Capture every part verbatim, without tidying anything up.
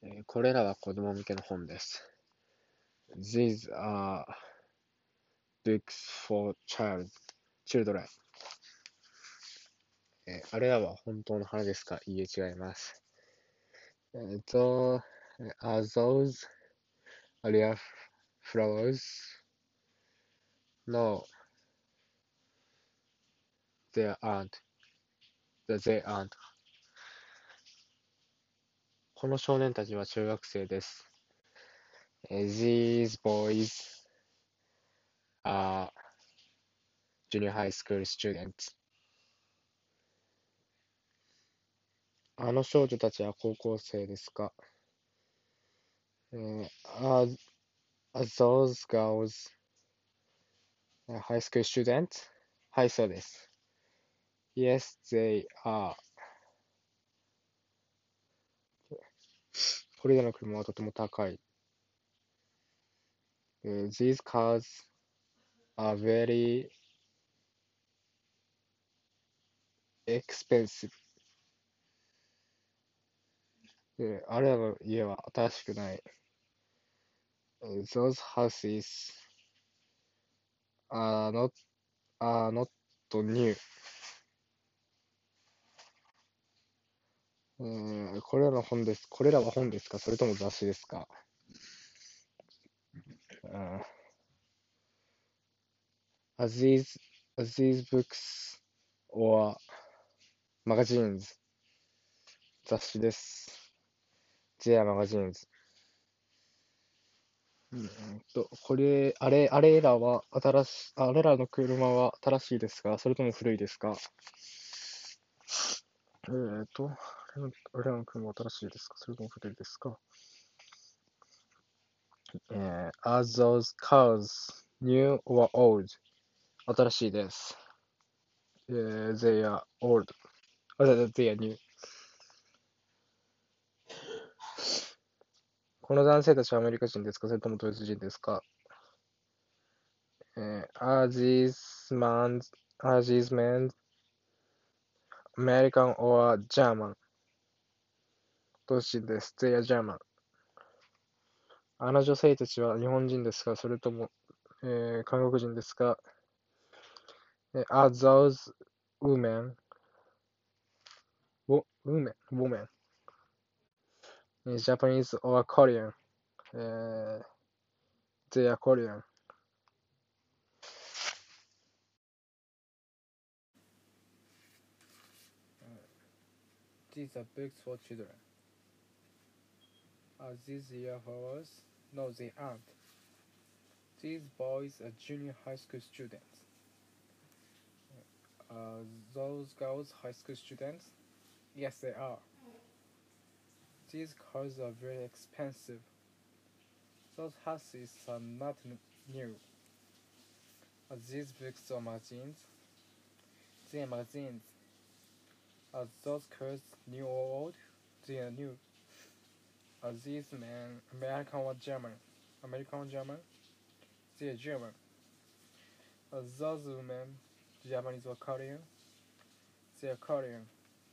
えーこれらは子供向けの本です。These are books for child, children. えーあれらは本当の花ですか？いいえ、違います。えーと、are those real flowers? No, they aren't. They aren't. この少年たちは中学生です。えー These boys are junior high school students. あの少女たちは高校生ですか？えー are, are those girls high school students? はい、そうです。Yes, they are. これらの車はとても高い。えー These cars are very expensive. えーあれらの家は新しくない。えー Those houses are not, are not new. えーこれらの本です。これらは本ですか？それとも雑誌ですか？うん Are these, are these books or magazines? 雑誌です。They are magazines. うんと、これ、あれ、あれらは新し、あれらの車は新しいですか？それとも古いですか？えーと、あれのあれらの車は新しいですか？それとも古いですか？えー、Are those cars new or old? 新しいです。えー、They are old. あ、They are new. この男性たちはアメリカ人ですか？それともドイツ人ですか？えー、Are these men, are these men American or German? ドイツ人です。They are German. あの女性たちは日本人ですか？それとも、えー韓国人ですか？えー Are those women, wo- women, women, えー Japanese or Korean? えー They are Korean. These are books for children. Are these your flowers? No, they aren't. These boys are junior high school students. Are those girls high school students? Yes, they are. These cars are very expensive. Those houses are not n- new. Are these books or magazines? They are magazines. Are those cars new or old? They are new. Are these men American or German? American or German? They are German. Are those women Japanese or Korean? They are Korean.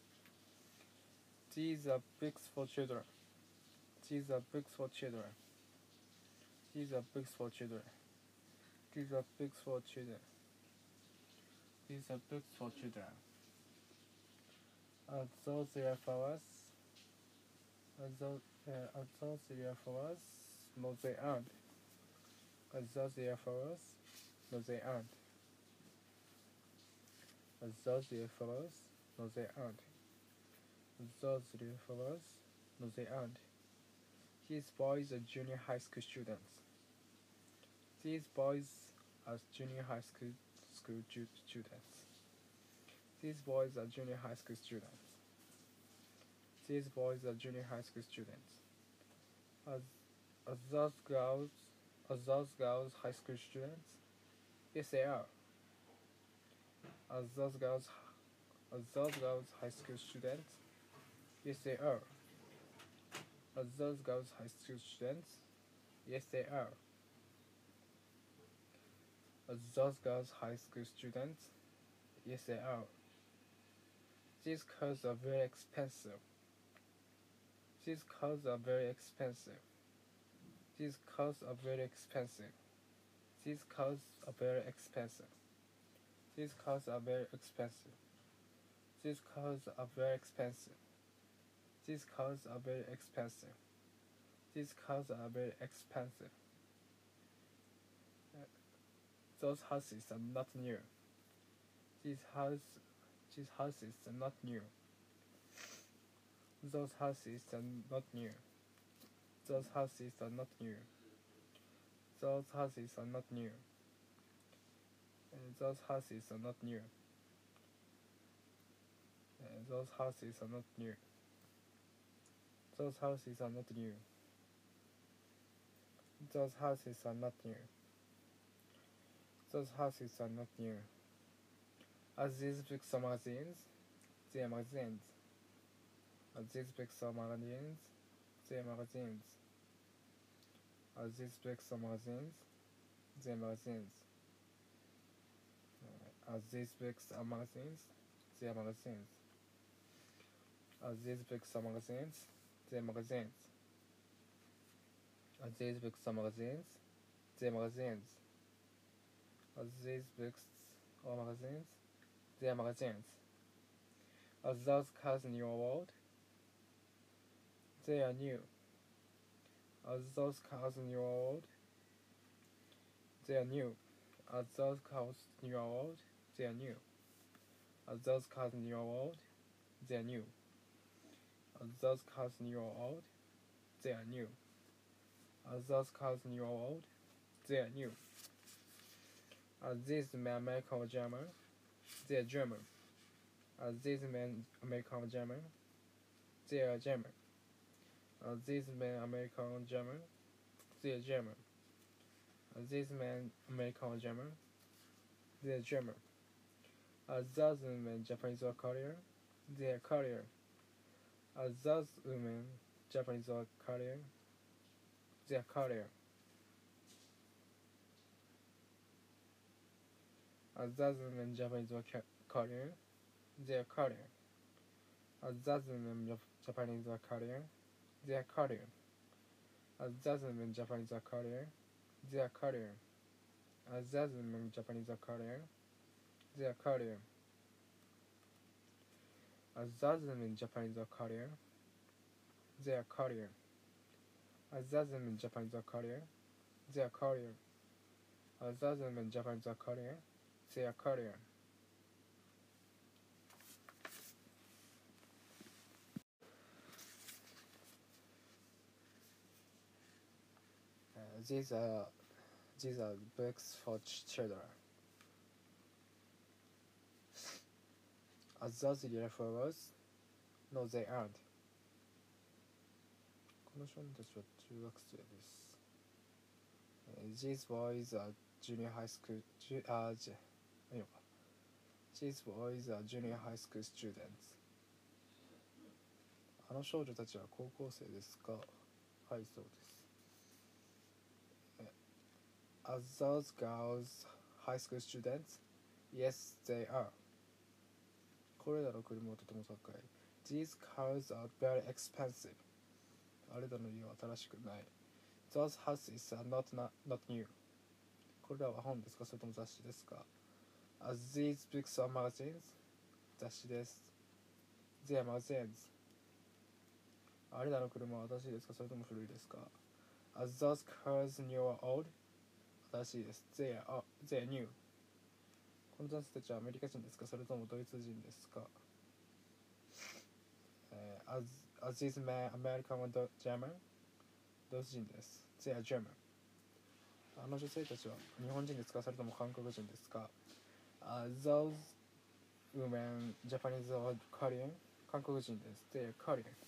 These are books for children. These are books for children. These are books for children. These are books for children. These are books for children. Are those your flowers? Are those, uh, are those your flowers? No, they aren't. Are those your flowers? No, they aren't. Are those your flowers? No, they aren't. Are those your flowers? No, they aren't. These boys are junior high school students. These boys are junior high school school ju- students. These boys are junior high school students. These boys are junior high school students. Are, are those girls are those girls high school students? Yes, they are. Are those girls are those girls high school students? Yes, they are. Are those girls high school students? Yes, they are. Are those girls high school students? Yes, they are. These cars are very expensive. These cars are very expensive. These cars are very expensive. These cars are very expensive. These cars are very expensive. These cars are very expensive. These cars are very expensive. These cars are very expensive. Those houses are not new. These house, these houses are not new. Those houses are not new. Those houses are not new. Those houses are not new. Uh, those houses are not new. Uh, those houses are not new. Those houses are not new. Those houses are not new. Those houses are not new. As these books are magazines, they are magazines. As these books are magazines, they are magazines. As these books are magazines, they are magazines. Uh, as these books are magazines, they are magazines. As these books are magazines, they are magazines. As these books are magazines, they are magazines. As these books are magazines, they are magazines. As those cars in your world, they are new. As those cars in your world, they are new. As those cars in your world, they are new. As those cars in your world, they are new. As those cars in your world, they are new. As those cars in your world, they are new. As these men American or German, they are German. As these men American or German, they are German. As these men American or German, they are German. As these men American or German, they are German. As those women Japanese or Korean, they are Korean. As those women Japanese or Korean, they are Korean. As those women Japanese or Korean, they are Korean. As those women Japanese or Korean, they are Korean. As those women Japanese or Korean, they are Korean. As those women Japanese or Korean, they are Korean. As those women Japanese or Korean, they are Korean. As those women Japanese or Korean, they are Korean. As those women Japanese or Korean, they are Korean. Uh, these are these are books for ch- children. As those little flowers, no, they aren't. この少年たちは中学生です。These boys are junior high school. Ju- あ、じゃ、いいのか。These boys are junior high school students. あの少女たちは高校生ですか？はい、そうです。Are those girls high school students? Yes, they are. これらの車はとても高い。These cars are very expensive. あれらの家は新しくない。Those houses are not, not, not new. これらは本ですか？それとも雑誌ですか？ As these books are magazines? 雑誌です。They are magazines. あれらの車は新しいですか？それとも古いですか？ As those cars new or old? 新しいです。They are, they are new. この男性たちはアメリカ人ですか？それともドイツ人ですか？ uh, as, as these men American or German? ドイツ人です。They are German. あの女性たちは日本人ですか？それとも韓国人ですか？ uh, Those women Japanese or Korean? 韓国人です。They are Korean.